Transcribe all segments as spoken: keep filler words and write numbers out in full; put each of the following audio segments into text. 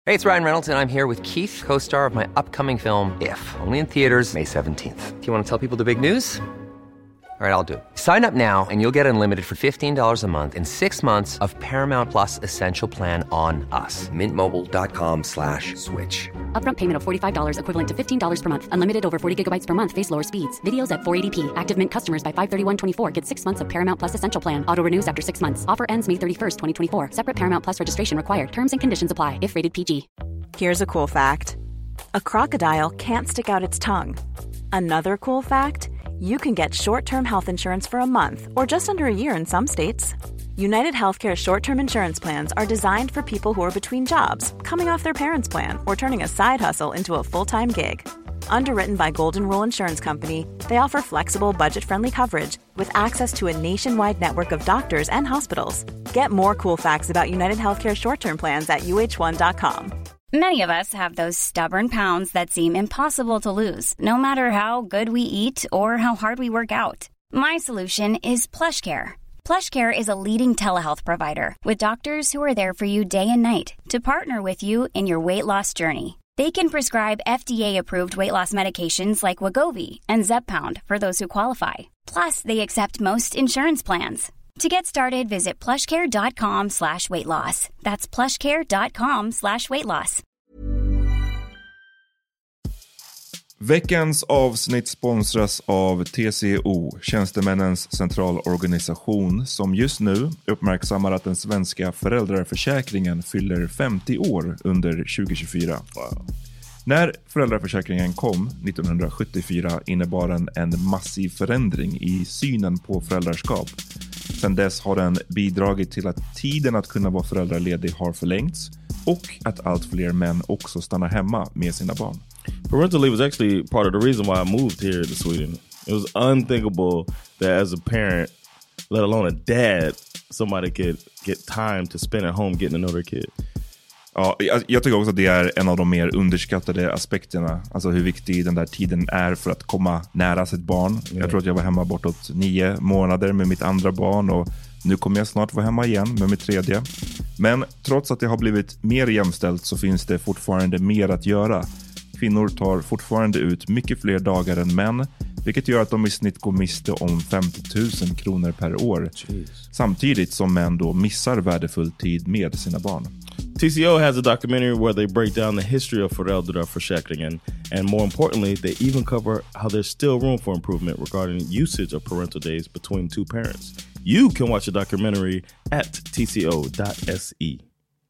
Hey, it's Ryan Reynolds, and I'm here with Keith, co-star of my upcoming film, If, only in theaters May seventeenth. Do you want to tell people the big news? All right, I'll do it. Sign up now and you'll get unlimited for fifteen dollars a month and six months of Paramount Plus Essential Plan on us. Mint Mobile dot com slash switch. Upfront payment of forty-five dollars equivalent to fifteen dollars per month. Unlimited over forty gigabytes per month. Face lower speeds. Videos at four eighty p. Active Mint customers by five thirty-one twenty-four get six months of Paramount Plus Essential Plan. Auto renews after six months. Offer ends May thirty-first, twenty twenty-four. Separate Paramount Plus registration required. Terms and conditions apply if rated P G. Here's a cool fact. A crocodile can't stick out its tongue. Another cool fact, you can get short-term health insurance for a month or just under a year in some states. United Healthcare short-term insurance plans are designed for people who are between jobs, coming off their parents' plan, or turning a side hustle into a full-time gig. Underwritten by Golden Rule Insurance Company, they offer flexible, budget-friendly coverage with access to a nationwide network of doctors and hospitals. Get more cool facts about United Healthcare short-term plans at U H one dot com. Many of us have those stubborn pounds that seem impossible to lose, no matter how good we eat or how hard we work out. My solution is PlushCare. PlushCare is a leading telehealth provider with doctors who are there for you day and night to partner with you in your weight loss journey. They can prescribe F D A-approved weight loss medications like Wegovy and Zepbound for those who qualify. Plus, they accept most insurance plans. To get started, visit plushcare.com slash weight loss. That's plushcare.com slash weight loss. Veckans avsnitt sponsras av T C O, Tjänstemännens centralorganisation, som just nu uppmärksammar att den svenska föräldraförsäkringen fyller femtio år under tjugo tjugofyra. Wow. När föräldraförsäkringen kom nittonhundrasjuttiofyra innebar den en massiv förändring i synen på föräldraskap. Sedan dess har den bidragit till att tiden att kunna vara föräldraledig har förlängts och att allt fler män också stannar hemma med sina barn. Parental leave was actually part of the reason why I moved here to Sweden. It was unthinkable that as a parent, let alone a dad, somebody could get time to spend at home getting to know their kid. Ja, jag, jag tycker också att det är en av de mer underskattade aspekterna. Alltså hur viktig den där tiden är för att komma nära sitt barn. Mm. Jag tror att jag var hemma bortåt nio månader med mitt andra barn och nu kommer jag snart vara hemma igen med mitt tredje. Men trots att det har blivit mer jämställt så finns det fortfarande mer att göra. Kvinnor tar fortfarande ut mycket fler dagar än män, vilket gör att de i snitt går miste om femtio tusen kronor per år. Jeez. Samtidigt som män då missar värdefull tid med sina barn. T C O has a documentary where they break down the history of föräldraförsäkringen, and more importantly, they even cover how there's still room for improvement regarding usage of parental days between two parents. You can watch the documentary at T C O dot S E.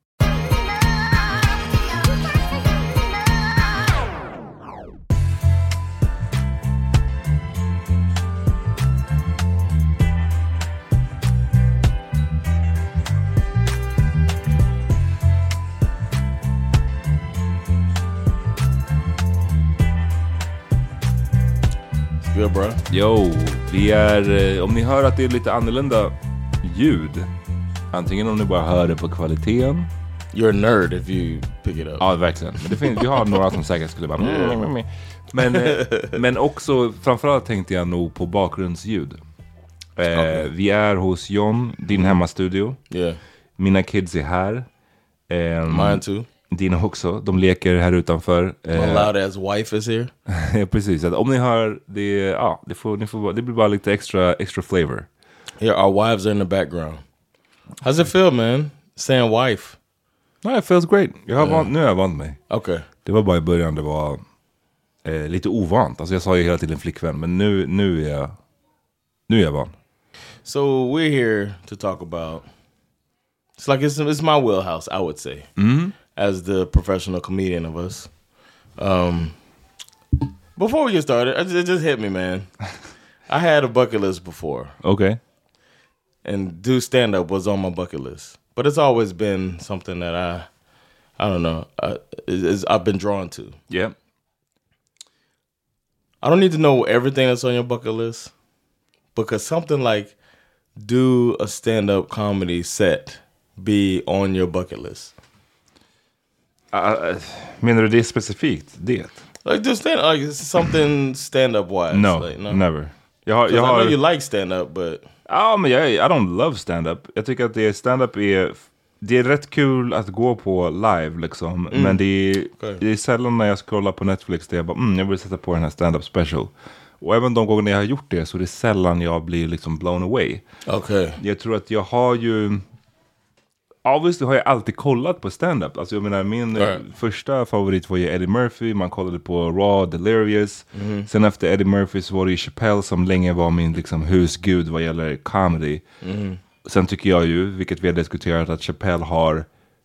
Good, bro. Yo, vi är, om ni hör att det är lite annorlunda ljud, antingen om ni bara hör det på kvaliteten. You're a nerd if you pick it up. Ja, verkligen. Men det finns, vi har några som säkert skulle bara mm. men, men också framförallt tänkte jag nog på bakgrundsljud. eh, okay. Vi är hos John, din hemmastudio. Yeah. Mina kids är här. eh, Mine too. Dina också, de leker här utanför. My loud ass wife is here. Ja, precis. Att om ni hör det, ja, det får, ni får, det blir bara lite extra extra flavor. Yeah, our wives are in the background. How's it feel, man? Saying wife. No, it feels great. Jag har yeah. vant, nu har jag vant mig. Okay. Det var bara i början det var eh, lite ovant. Alltså jag sa ju hela tiden flickvän, men nu nu är jag nu är jag van. So we're here to talk about. It's like it's it's my wheelhouse, I would say. Mm-hmm. As the professional comedian of us. Um, before we get started, I just, it just hit me, man. I had a bucket list before. Okay. And do stand-up was on my bucket list. But it's always been something that I, I don't know, I, is, I've been drawn to. Yeah. I don't need to know everything that's on your bucket list. Because something like do a stand-up comedy set be on your bucket list? Uh, menar du det specifikt? Det? Like just stand like something stand-up wise. No, like, no? never. Jag har, jag I har, know you like stand-up, but... Ja, men jag, I don't love stand-up. Jag tycker att det stand-up är det är rätt kul att gå på live liksom, mm. men det är, okay. det är sällan när jag scrollar på Netflix där jag bara, mm, jag vill sätta på den här stand-up special. Och även de gånger jag har gjort det så är det sällan jag blir liksom blown away. Okay. Jag tror att jag har ju, obviously har jag alltid kollat på stand-up. Alltså jag menar, min right. första favorit var ju Eddie Murphy. Man kollade på Raw, Delirious. Mm. Sen efter Eddie Murphy så var det ju Chappelle som länge var min liksom husgud vad gäller comedy. Mm. Sen tycker jag ju, vilket vi har diskuterat, att Chappelle har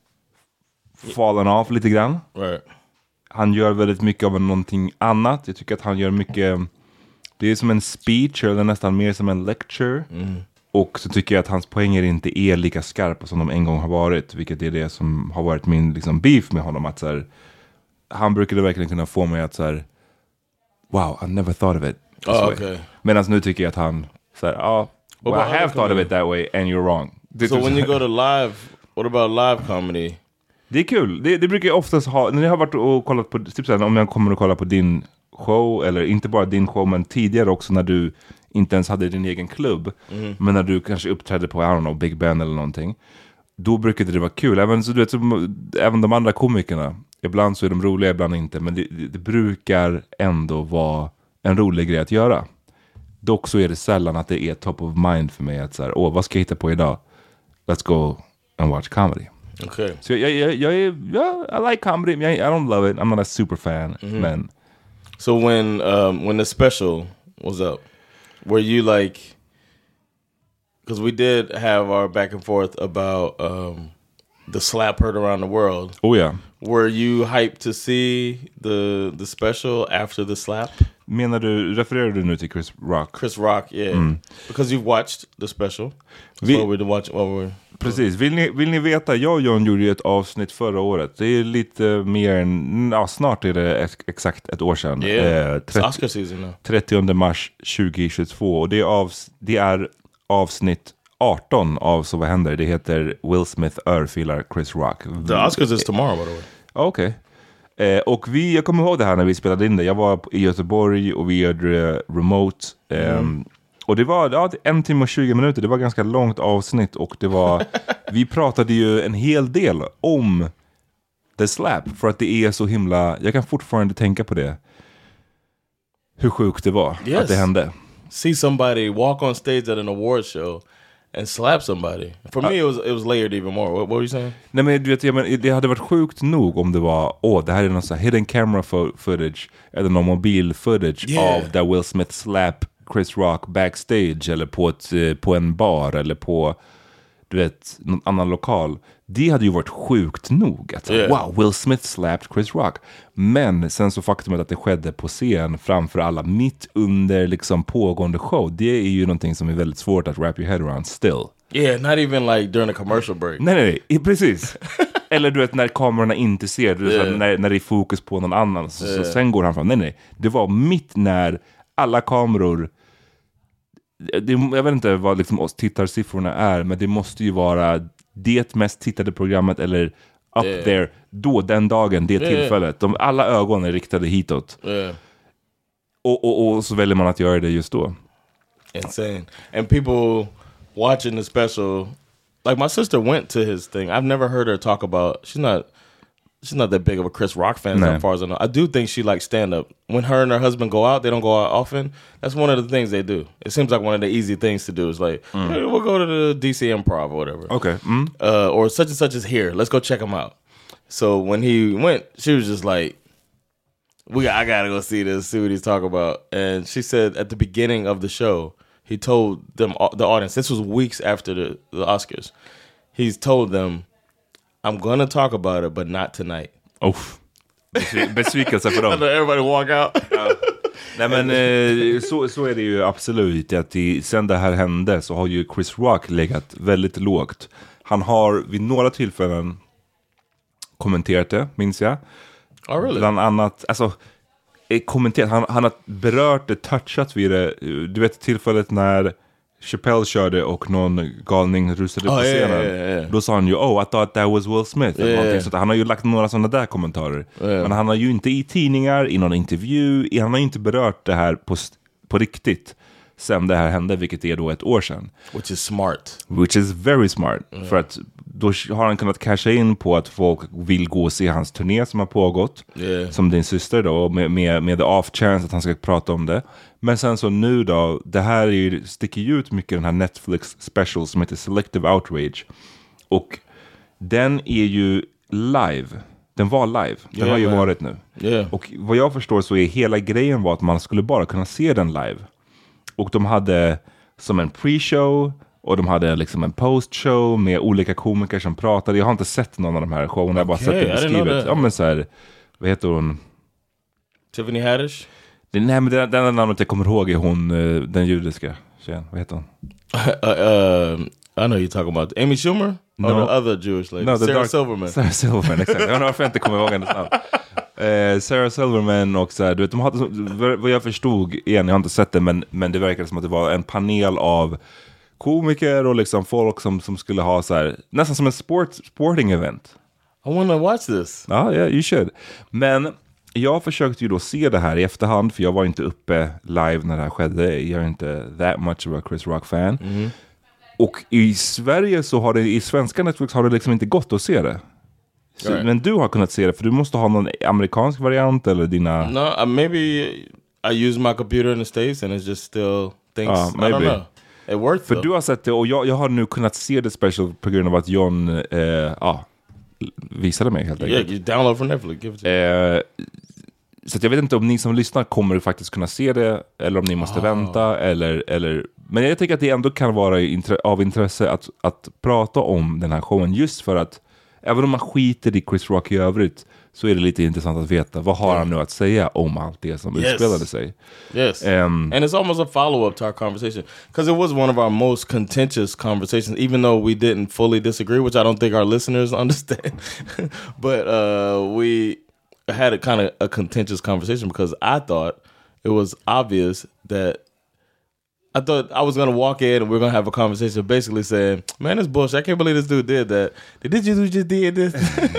fallen av lite grann. Right. Han gör väldigt mycket av någonting annat. Jag tycker att han gör mycket, det är som en speech eller nästan mer som en lecture. Mm. Och så tycker jag att hans poänger inte är lika skarpa som de en gång har varit. Vilket är det som har varit min liksom beef med honom. Att så här, han brukade verkligen kunna få mig att så här, wow, I never thought of it this oh, way. Okay. Medan nu tycker jag att han så här, ja, oh, well, I have thought of it that way and you're wrong. Det so when you go to live, what about live comedy? Det är kul. Det, det brukar jag oftast ha, när jag har varit och kollat på, typ så här, om jag kommer och kolla på din show, eller inte bara din show men tidigare också när du inte ens hade din egen klubb, mm. men när du kanske uppträdde på, I don't know, Big Ben eller någonting, då brukade det vara kul. Även, så, du vet, så, även de andra komikerna, ibland så är de roliga, ibland inte, men det, det, det brukar ändå vara en rolig grej att göra. Dock så är det sällan att det är top of mind för mig att så här, åh, vad ska jag hitta på idag? Let's go and watch comedy. Okay. Så jag, jag, jag är, ja, I like comedy, I, I don't love it, I'm not a super fan, mm-hmm. men... So when, um, when the special was up, were you like, because we did have our back and forth about um, the slap heard around the world. Oh yeah. Were you hyped to see the the special after the slap? Menar du, refererar du nu till Chris Rock? Chris Rock, yeah. Mm. Because you've watched the special. That's Vi, what we're watching. What we're, precis. Vill ni, vill ni veta, jag och John gjorde ju ett avsnitt förra året. Det är lite mer än, ja, snart är det exakt ett år sedan. Yeah, eh, trettio, Oscar season now. trettionde mars tjugohundratjugotvå. Och det är, av, det är avsnitt arton av Så vad händer? Det heter Will Smith örfilar Chris Rock. The Oscars is tomorrow, by the way. Okej. Okay. Eh, och vi, jag kommer ihåg det här när vi spelade in det. Jag var i Göteborg och vi gjorde det remote. Eh, mm. Och det var ja, en timme och tjugo minuter. Det var ganska långt avsnitt. Och det var, vi pratade ju en hel del om The Slap. För att det är så himla, jag kan fortfarande tänka på det. Hur sjukt det var, yes. Att det hände. See somebody walk on stage at an award show and slap somebody. For me it was, it was layered even more. What, what were you saying? Nej men du vet, jag men, det hade varit sjukt nog om det var, åh, det här är någon sån här hidden camera fo- footage eller någon mobil footage yeah. av där Will Smith slap Chris Rock backstage eller på, ett, på en bar eller på, du vet, någon annan lokal. Det hade ju varit sjukt nog att, yeah. wow, Will Smith slapped Chris Rock. Men sen så faktumet att det skedde på scen framför alla mitt under liksom pågående show, det är ju någonting som är väldigt svårt att wrap your head around still. Yeah, not even like during a commercial break. Nej, nej, nej, precis. Eller du vet när kamerorna inte ser, du vet, yeah. när, när det är fokus på någon annan så, yeah. så sen går han fram. Nej, nej, det var mitt när alla kameror, det, jag vet inte vad liksom oss tittarsiffrorna är, men det måste ju vara det mest tittade programmet eller up yeah. there då, den dagen, det yeah. tillfället. De, alla ögon är riktade hitåt. Yeah. Och, och, och så väljer man att göra det just då. Insane. And people watching the special, like my sister went to his thing. I've never heard her talk about, she's not she's not that big of a Chris Rock fan nah. as far as I know. I do think she likes stand-up. When her and her husband go out, they don't go out often. That's one of the things they do. It seems like one of the easy things to do. Is like, mm. hey, we'll go to the D C Improv or whatever. Okay. Mm. Uh, or such and such is here. Let's go check him out. So when he went, she was just like, "We, I gotta go see this, see what he's talking about." And she said at the beginning of the show, he told them, the audience, this was weeks after the, the Oscars, he's told them, I'm gonna talk about it, but not tonight. Oh, besvikelse för dem. Everybody walk out. Ja. Nej men eh, så, så är det ju absolut. Att i, sen det här hände så har ju Chris Rock legat väldigt lågt. Han har vid några tillfällen kommenterat det, minns jag. Oh, really? Bland annat, alltså kommenterat, han, han har berört det, touchat vid det. Du vet tillfället när Chappelle körde och någon galning rusade oh, på scenen. Yeah, yeah, yeah. Då sa han ju, oh, I thought that was Will Smith. Yeah, eller yeah. Han har ju lagt några sådana där kommentarer. Yeah. Men han har ju inte i tidningar, i någon intervju, han har ju inte berört det här på, på riktigt. sen det här hände, vilket är då ett år sedan. Which is smart. Which is very smart. Mm. För att då har han kunnat casha in på att folk vill gå och se hans turné som har pågått. Yeah. Som din syster då, med, med, med the off chance att han ska prata om det. Men sen så nu då, det här är ju, sticker ju ut mycket den här Netflix special som heter Selective Outrage. Och den är ju live. Den var live. Den yeah, har ju man. varit nu. Yeah. Och vad jag förstår så är hela grejen var att man skulle bara kunna se den live. Och de hade som en pre-show och de hade liksom en post-show med olika komiker som pratade. Jag har inte sett någon av de här showerna. Jag har okay, bara sett det beskrivet. Ja men så här, vad heter hon? Tiffany Haddish? Det, nej men den, den namnet jag kommer ihåg är hon, den judiska tjejen. Vad heter hon? uh, uh, I know you're talking about Amy Schumer? No. Or the other Jewish lady? No, Sarah dark, Silverman. Sarah Silverman, exakt. Jag undrar varför jag inte kommer ihåg hennes namn. Eh, Sarah Silverman och så här, du vet, de hade, vad jag förstod igen, jag har inte sett det, men, men det verkade som att det var en panel av komiker och liksom folk som, som skulle ha så här, nästan som en sport, sporting event. I wanna watch this. Ja, yeah, you should. Men jag försökte ju då se det här i efterhand, för jag var inte uppe live när det här skedde. Jag är inte that much of a Chris Rock fan. Mm. Och i Sverige så har det, i svenska Netflix har det liksom inte gått att se det. Så, right. Men du har kunnat se det, för du måste ha någon amerikansk variant eller dina... No, uh, maybe I use my computer in the States and it's just still things, uh, maybe. I don't know. It worked För though. du har sett det och jag, jag har nu kunnat se det special på grund av att John eh, ja, visade mig helt enkelt. Yeah, you download from Netflix. Give it to eh, så att jag vet inte om ni som lyssnar kommer faktiskt kunna se det eller om ni måste oh. vänta eller, eller... Men jag tycker att det ändå kan vara intre- av intresse att, att prata om den här showen, just för att även om man skiter i Chris Rock i övrigt så är det lite intressant att veta vad har yeah. han nu att säga om allt det som yes. utspelade sig. Yes. Um, and it's almost a follow-up to our conversation because it was one of our most contentious conversations, even though we didn't fully disagree, which I don't think our listeners understand. But uh, we had a kind of a contentious conversation because I thought it was obvious that I thought I was going to walk in and we we're going to have a conversation basically saying, man, this bullshit. I can't believe this dude did that. Did you just did this?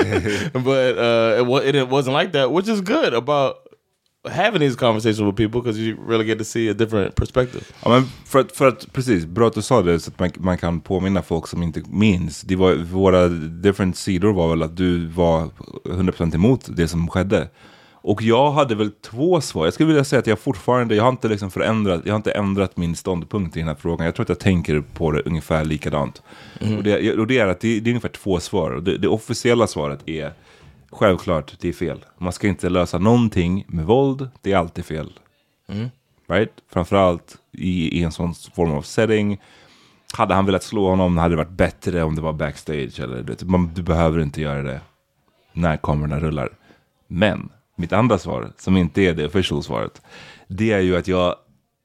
But uh, it, it wasn't like that, which is good about having these conversations with people because you really get to see a different perspective. Ja, men för att, för att, precis, bra att du sa det så att man, man kan påminna folk som inte minns. Det var, våra different sidor var väl att du var hundra procent emot det som skedde. Och jag hade väl två svar. Jag skulle vilja säga att jag fortfarande, jag har inte liksom förändrat, jag har inte ändrat min ståndpunkt i den här frågan. Jag tror att jag tänker på det ungefär likadant. Mm. Och, det, och det är att det, det är ungefär två svar. Och det, det officiella svaret är självklart, det är fel. Man ska inte lösa någonting med våld, det är alltid fel. Mm. Right? Framförallt i, i en sån form av setting. Hade han velat slå honom hade det varit bättre om det var backstage. Eller, du, man, du behöver inte göra det när kamerorna rullar. Men mitt andra svar, som inte är det official svaret, det är ju att jag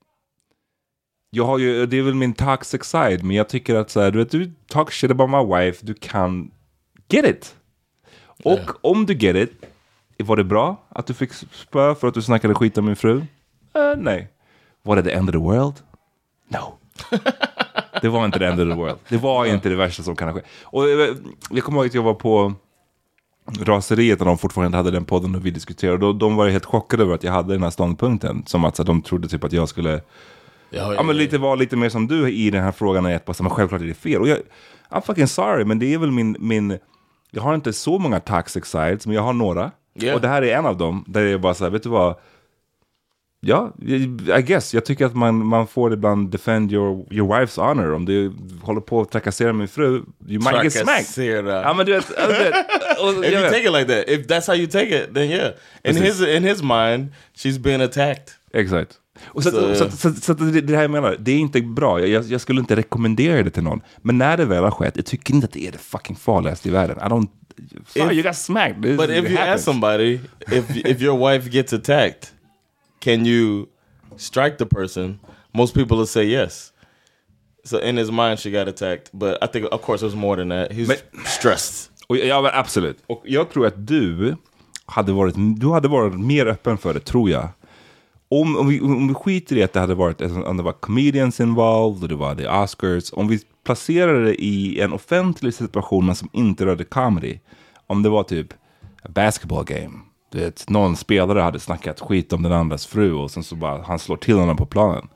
jag har ju, det är väl min toxic side, men jag tycker att så här, du vet, du talk shit about my wife, du kan get it. Och yeah. om du get it, var det bra att du fick spö för att du snackade skit om min fru? Uh, nej. Var det the end of the world? No. Det var inte the end of the world. Det var inte det värsta som kan ske. Och jag, jag kommer ihåg att jag var på Raseriet när de fortfarande hade den podden och vi diskuterade. De, de var ju helt chockade över att jag hade den här ståndpunkten. Som att så, de trodde typ att jag skulle ja, ja, ja, men lite var lite mer som du i den här frågan. Är att, men självklart är det fel. Och jag, I'm fucking sorry, men det är väl min, min... Jag har inte så många toxic sides, men jag har några. Yeah. Och det här är en av dem. Där jag bara så här, vet du vad... Ja, I guess. Jag tycker att man, man får ibland defend your, your wife's honor. Om du håller på att trakassera min fru, you might get smacked. Ja, men du vet, du vet, och, if you take it like that, if that's how you take it, then yeah. In his, in his mind, she's been attacked. Exakt. Och så, så, så, så, så det, det här jag menar, det är inte bra. Jag, jag skulle inte rekommendera det till någon. Men när det väl har skett, jag tycker inte att det är det fucking farligaste i världen. I don't... Sorry, if, you got smacked. This, but if you happens. Ask somebody, if if your wife gets attacked, can you strike the person? Most people will say yes. So in his mind she got attacked. But I think of course it was more than that. He's men, stressed. Och, ja, absolut. Och jag tror att du hade varit, du hade varit mer öppen för det, tror jag. Om, om, vi, om vi skiter i att det hade varit, om det var comedians involved och det var the Oscars. Om vi placerade det i en offentlig situation men som inte rörde comedy. Om det var typ a basketball game. Det, någon spelare hade snackat skit om den andras fru och sen så bara han slår till honom på planen.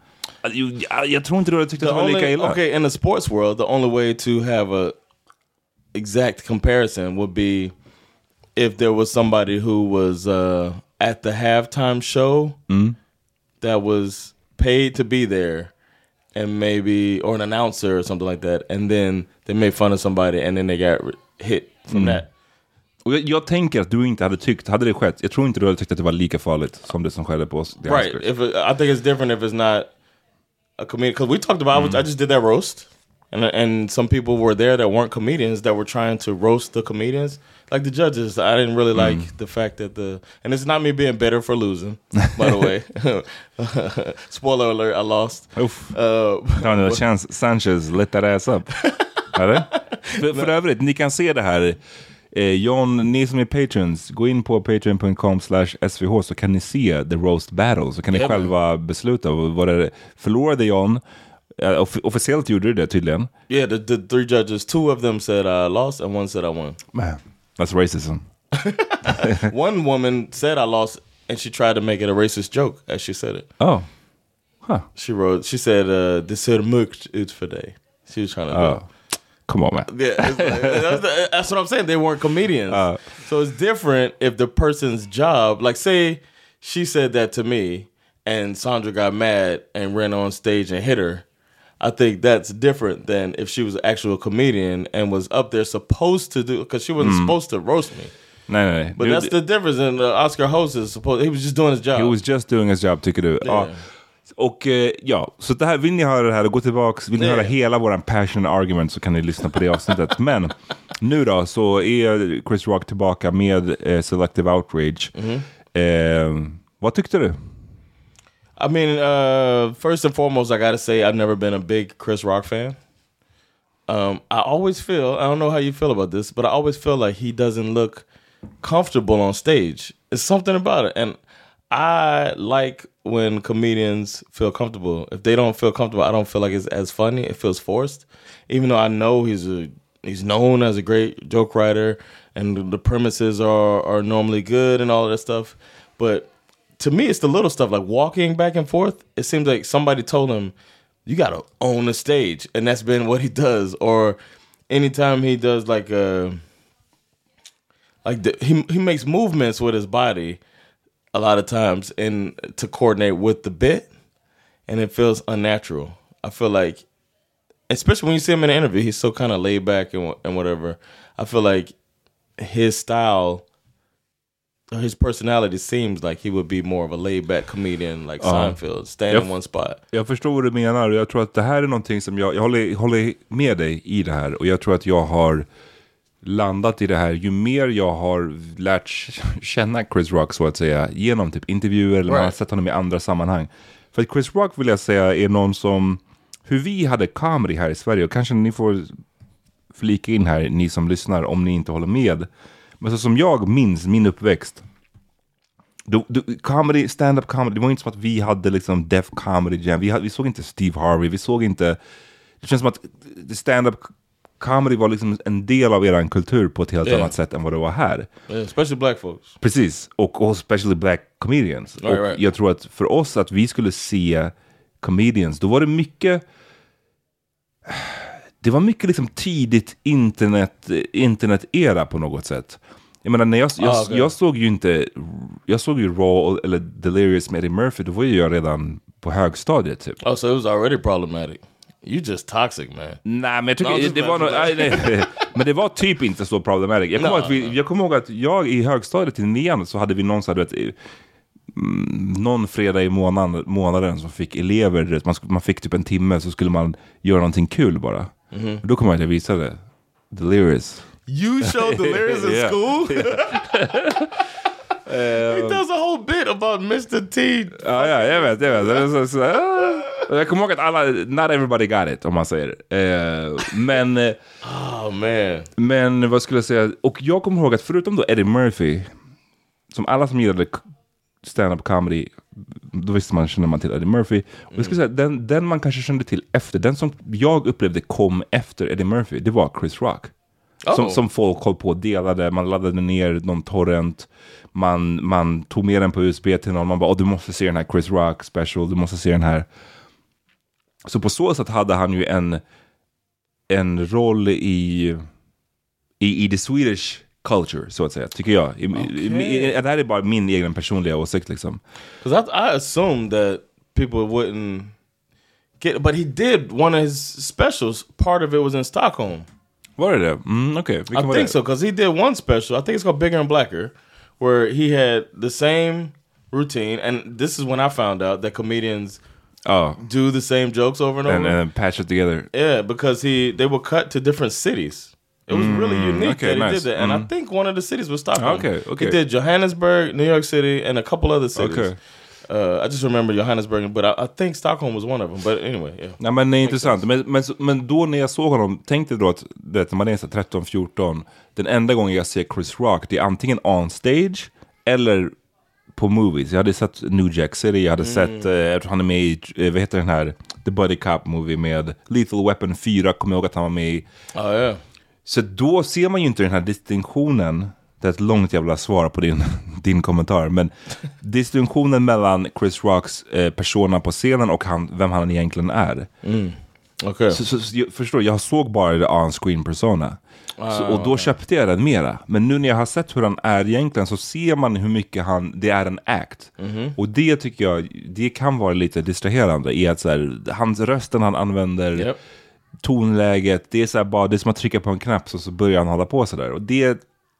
Jag, jag tror inte du hade tyckt att det var lika illa. Okay, in the sports world, the only way to have a exact comparison would be if there was somebody who was uh, at the halftime show mm. that was paid to be there, and maybe, or an announcer or something like that, and then they made fun of somebody and then they got hit from mm. that. Och jag, jag tänker att du inte hade tyckt, hade det skett, jag tror inte du hade tyckt att det var lika farligt som det som skedde på oss. Right, if it, I think it's different if it's not a comedian, because we talked about, mm. I, was, I just did that roast, and and some people were there that weren't comedians that were trying to roast the comedians, like the judges. I didn't really like mm. the fact that the, and it's not me being bitter for losing, by the way. Spoiler alert, I lost. Uff. Uh, ja, det känns Sanchez lit that ass up. Eller? För, för övrigt, ni kan se det här. Eh, John, ni som är patrons, gå in på patreon dot com slash s v h så kan ni se the roast battle, så kan ni yep. själva besluta vad det förlorade John. Uh, off- officiellt gjorde du det tydligen. Yeah, the, the three judges, two of them said I lost and one said I won. Man, that's racism. One woman said I lost and she tried to make it a racist joke as she said it. Oh. Huh. She wrote, she said uh, det ser mörkt ut för dig. She was trying to oh. do Come on, man. Yeah, it's like, that's, the, that's what I'm saying. They weren't comedians. Uh, so it's different if the person's job, like say she said that to me and Sandra got mad and ran on stage and hit her. I think that's different than if she was an actual comedian and was up there supposed to do, because she wasn't mm. supposed to roast me. Nej, nej. But du, that's the difference. And the Oscar host is supposed, he was just doing his job. He was just doing his job, tycker du? Yeah. Ja. Och eh, ja, så det här, vill ni höra det här och gå tillbaks, vill ni yeah. höra hela våran passion argument, så kan ni lyssna på det avsnittet. Men nu då så är Chris Rock tillbaka med eh, Selective Outrage. Mm-hmm. Eh, vad tyckte du? I mean, uh, first and foremost, I gotta say I've never been a big Chris Rock fan. Um, I always feel, I don't know how you feel about this, but I always feel like he doesn't look comfortable on stage. It's something about it. And I like when comedians feel comfortable. If they don't feel comfortable, I don't feel like it's as funny. It feels forced. Even though I know he's a he's known as a great joke writer and the premises are, are normally good and all of that stuff. But to me, it's the little stuff like walking back and forth. It seems like somebody told him, you got to own the stage. And that's been what he does. Or anytime he does like a, like the, he he makes movements with his body a lot of times and to coordinate with the bit, and it feels unnatural. I feel like, especially when you see him in an interview, he's so kind of laid back and and whatever. I feel like his style, his personality seems like he would be more of a laid back comedian like uh, Seinfeld, stand in one spot. Jag förstår vad du menar, och jag tror att det här är någonting som jag, jag håller, håller med dig i det här, och jag tror att jag har landat i det här ju mer jag har lärt känna Chris Rock, så att säga, genom typ intervjuer eller right. man har sett honom i andra sammanhang. För att Chris Rock, vill jag säga, är någon som, hur vi hade comedy här i Sverige, och kanske ni får flika in här, ni som lyssnar, om ni inte håller med, men så som jag minns min uppväxt, du, du, comedy, stand-up comedy, det var inte som att vi hade liksom Def Comedy Jam, vi, hade, vi såg inte Steve Harvey, vi såg inte, det känns som att stand-up comedy var liksom en del av eran kultur på ett helt yeah. annat sätt än vad det var här. Yeah, especially black folks. Precis, och, och especially black comedians. Right, och right. jag tror att för oss att vi skulle se comedians, då var det mycket, det var mycket liksom tidigt internet, internet-era på något sätt. Jag menar, när jag, jag, ah, okay. jag såg ju inte, jag såg ju Raw eller Delirious med Eddie Murphy, då var ju jag redan på högstadiet typ. Oh, so it was already problematic. You just toxic, man. Nej, men jag tycker no, det var no, nej, nej, men det var typ inte så problematic. Jag kommer, no, vi, no. jag kommer ihåg att jag i högstadiet i nian så hade vi någon så hade vet, någon fredag i månaden, månaden som fick elever, man, man fick typ en timme, så skulle man göra någonting kul bara. Mm-hmm. Då kommer jag att jag visade Delirious. You showed Delirious in yeah. school? um, He does a whole bit about mister T. Ja, ja, jag vet, jag vet. Så, så, ah. Jag kommer ihåg att alla, not everybody got it, om man säger. Uh, men, oh man. Men vad skulle jag säga? Och jag kommer ihåg att förutom då Eddie Murphy, som alla som gillade stand-up comedy, då visste man, kände man till Eddie Murphy. Och jag skulle säga, den, den man kanske kände till efter, den som jag upplevde kom efter Eddie Murphy, det var Chris Rock. Oh. Som, som folk höll på och delade, man laddade ner någon torrent, man, man tog med den på U S B till någon, man bara, oh, du måste se den här Chris Rock special, du måste se den här. Så på så sätt hade han ju en en roll i i, i the Swedish culture, så att säga, tycker jag. I, okay. i, det här är bara min egen personliga åsikt liksom. Because I, I assumed that people wouldn't get, but he did one of his specials, part of it was in Stockholm. Var det det? Mm, okay. I think det. so, because he did one special, I think it's called Bigger and Blacker, where he had the same routine, and this is when I found out that comedians oh. do the same jokes over and over. And, and patch it together. Yeah, because he they were cut to different cities. It was mm, really unique okay, that he nice. did that. And mm. I think one of the cities was Stockholm. Okay, okay. He did Johannesburg, New York City, and a couple other cities. Okay. Uh, I just remember Johannesburg, but I, I think Stockholm was one of them. But anyway, yeah. Nej, men det är intressant. Men, men, men då när jag såg honom, tänkte då att det, när man är tretton fjorton, den enda gången jag ser Chris Rock, det är antingen on stage eller på movies. Jag hade sett New Jack City, jag hade mm. sett, jag uh, tror han är med i, uh, vad heter den här, The Buddy Cop movie med Lethal Weapon fyra, kommer jag ihåg att han var med i. Ja, oh, yeah. Så då ser man ju inte den här distinktionen. Det är ett långt jävla svar på din, din kommentar. Men distinktionen mellan Chris Rocks eh, persona på scenen och han, vem han egentligen är. Mm. Okay. Så, så, så jag förstår, jag såg bara det on-screen persona. Ah, så, och då köpte jag den mera. Men nu när jag har sett hur han är egentligen, så ser man hur mycket han, det är en act. Mm-hmm. Och det tycker jag, det kan vara lite distraherande i att så här, hans rösten han använder... Yep. Tonläget, det är så här bara, det är som att trycka på en knapp så, så börjar han hålla på så där. Och det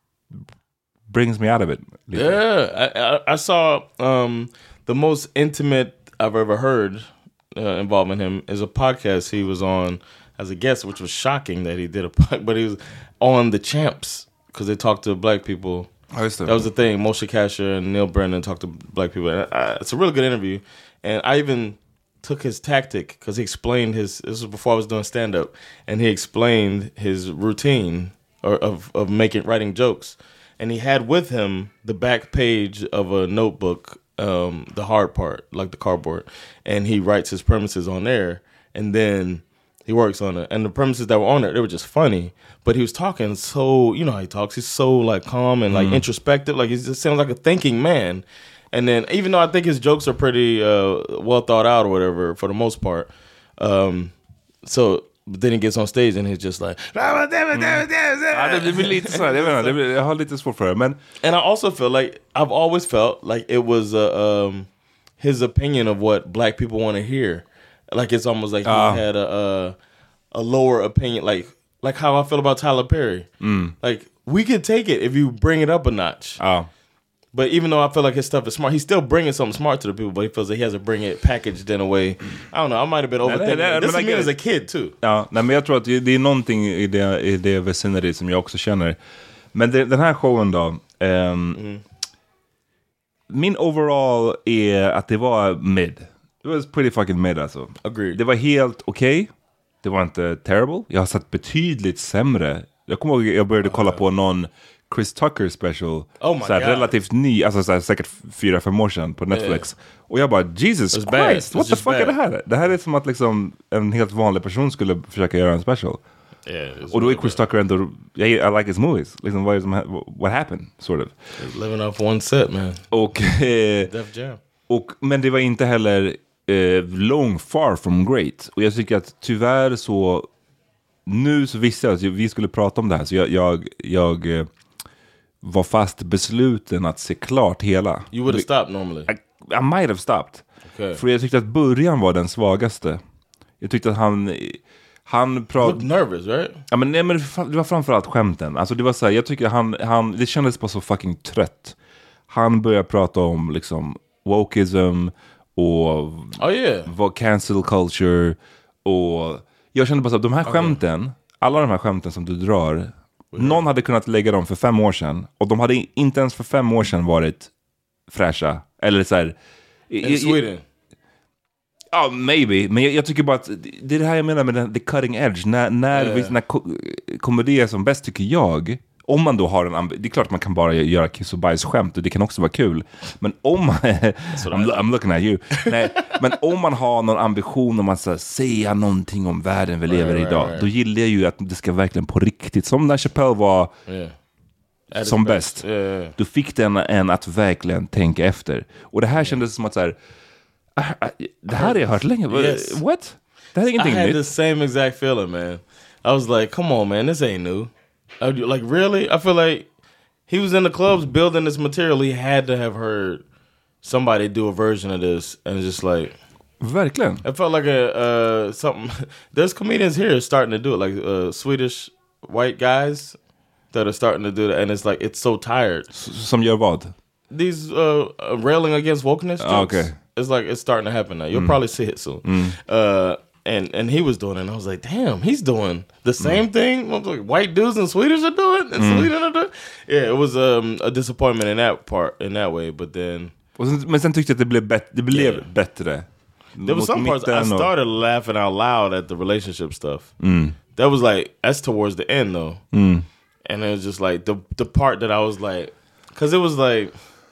brings me out of it. Lite. Yeah, I, I, I saw um, the most intimate I've ever heard uh, involving him is a podcast he was on as a guest, which was shocking that he did a podcast, but he was on The Champs because they talked to black people. Oh, that was the thing. Moshe Kasher and Neil Brennan talked to black people. And I, it's a really good interview. And I even took his tactic because he explained his, this was before I was doing stand-up, and he explained his routine or of, of making, writing jokes. And he had with him the back page of a notebook, um, the hard part, like the cardboard. And he writes his premises on there, and then he works on it. And the premises that were on it, they were just funny. But he was talking so, you know how he talks, he's so like calm and like mm. introspective, like he just sounds like a thinking man. And then, even though I think his jokes are pretty uh, well thought out or whatever, for the most part, um, so but then he gets on stage and he's just like, mm. ja, det blir lite så här, jag vet inte, jag har lite svårt för det, men and I also feel like I've always felt like it was uh, um, his opinion of what black people want to hear, like it's almost like he uh. had a, a a lower opinion, like like how I feel about Tyler Perry, mm. like we could take it if you bring it up a notch. Oh. But even though I feel like his stuff is smart, he's still bringing something smart to the people, but he feels like he has to bring it packaged in a way. I don't know, I might have been overthinking. Nej, nej, this is me as a kid too. Ja, nej, men jag tror att det är någonting i det, i det vicinity som jag också känner. Men det, den här showen då, um, mm. min overall är att det var mid. It was pretty fucking mid alltså. Agreed. Det var helt okej. Okay. Det var inte terrible. Jag har sett betydligt sämre. Jag kommer ihåg jag började kolla på någon Chris Tucker special, oh my såhär, God. relativt ny, alltså såhär, säkert fyra, fem år sedan på Netflix. Yeah. Och jag bara, Jesus Christ, bad. What the fuck bad. Är det här? Det här är som att liksom en helt vanlig person skulle försöka göra en special. Yeah, och då är Chris Tucker ändå, yeah, I like his movies. Liksom, what, is, what happened, sort of. He's living off one set, man. Och, eh, Def Jam. Och, men det var inte heller eh, long far from great. Och jag tycker att tyvärr så, nu så visste jag att vi skulle prata om det här, så jag, jag, jag eh, var fast besluten att se klart hela. You would have stopped normally. I, I might have stopped. Okay. För jag tyckte att början var den svagaste. Jag tyckte att han han pratade nervous, right? Ja, men nej, men det var framförallt skämten. Alltså det var så här, jag tycker han han det kändes bara så fucking trött. Han började prata om liksom wokeism och oh, yeah. vad cancel culture, och jag kände bara så att de här skämten, okay. alla de här skämten som du drar, någon hade kunnat lägga dem för fem år sedan, och de hade inte ens för fem år sedan varit fräscha. Eller så här, in Sweden. Ja, oh, maybe. Men jag, jag tycker bara att det är det här jag menar med den, the cutting edge. När, när, yeah. när ko- komedi är som bäst, tycker jag, om man då har en ambi- det är klart man kan bara göra kiss och bajs skämt, och det kan också vara kul. Men om man I'm, I'm looking at you. Nej, men om man har någon ambition om att så här, säga någonting om världen vi lever i right, idag, right, right. då gillar jag ju att det ska verkligen på riktigt, som när Chappelle var yeah. som bäst. Yeah, yeah. Då fick den en att verkligen tänka efter. Och det här kändes som att så här, det här har jag hört länge. Yes. What? Det här är ingenting I had nytt. the same exact feeling, man. I was like, come on, man, this ain't new. I, like, really? I feel like he was in the clubs building this material. He had to have heard somebody do a version of this, and just like, verkligen. it felt like a uh, something. There's comedians here starting to do it, like uh, Swedish white guys that are starting to do that, and it's like it's so tired. S- som gör vad? These uh, railing against wokeness jokes. Ah, okay. It's like it's starting to happen now. You'll Mm. probably see it soon. Mm. Uh, and and he was doing it, and I was like, damn, he's doing the same mm. thing what, like, white dudes in Swedish are doing, and mm. Sweden are doing. Yeah, it was um, a disappointment in that part, in that way. But then, och sen, men sen tyckte jag att det blev, bet- det blev yeah. bättre. There was some parts I started och... laughing out loud at the relationship stuff. Mm. That was like that's towards the end though, mm. and it was just like the the part that I was like, because it was like.